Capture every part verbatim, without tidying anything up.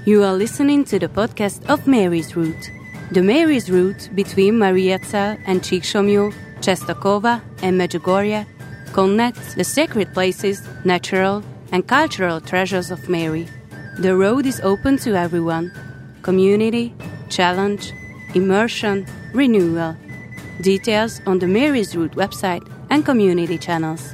You are listening to the podcast of Mary's Route. The Mary's Route between Mariazell and Csíksomlyó, Czestochowa and Medjugorje connects the sacred places, natural and cultural treasures of Mary. The road is open to everyone. Community, challenge, immersion, renewal. Details on the Mary's Route website and community channels.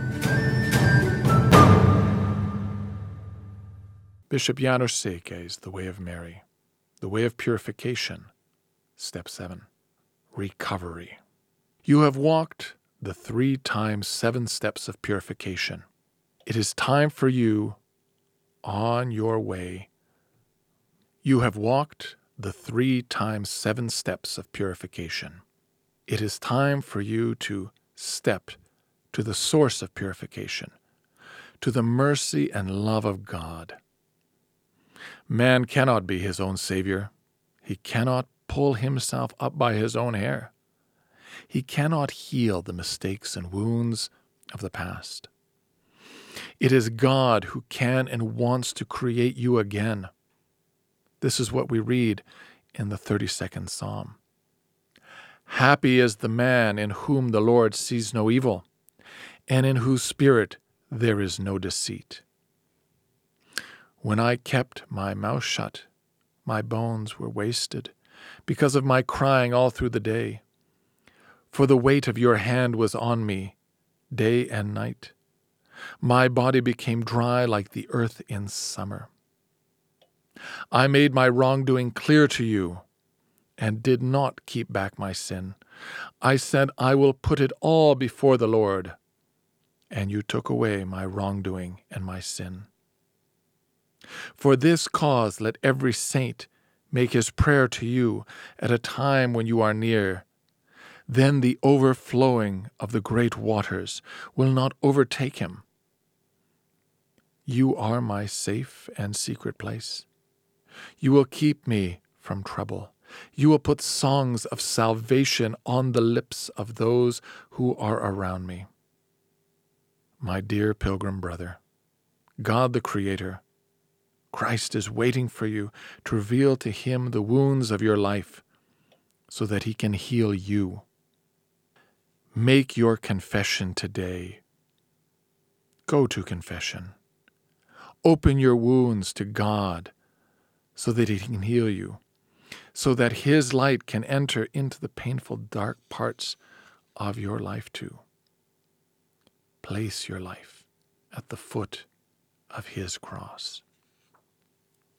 Bishop János Székely's The Way of Mary, The Way of Purification, Step seven, Recovery. You have walked the three times seven steps of purification. It is time for you on your way. You have walked the three times seven steps of purification. It is time for you to step to the source of purification, to the mercy and love of God. Man cannot be his own savior. He cannot pull himself up by his own hair. He cannot heal the mistakes and wounds of the past. It is God who can and wants to create you again. This is what we read in the thirty-second Psalm. Happy is the man in whom the Lord sees no evil, and in whose spirit there is no deceit. When I kept my mouth shut, my bones were wasted, because of my crying all through the day. For the weight of your hand was on me, day and night. My body became dry like the earth in summer. I made my wrongdoing clear to you, and did not keep back my sin. I said, I will put it all before the Lord, and you took away my wrongdoing and my sin. For this cause let every saint make his prayer to you at a time when you are near. Then the overflowing of the great waters will not overtake him. You are my safe and secret place. You will keep me from trouble. You will put songs of salvation on the lips of those who are around me. My dear pilgrim brother, God the Creator, Christ is waiting for you to reveal to him the wounds of your life so that he can heal you. Make your confession today. Go to confession. Open your wounds to God so that he can heal you, so that his light can enter into the painful dark parts of your life too. Place your life at the foot of his cross.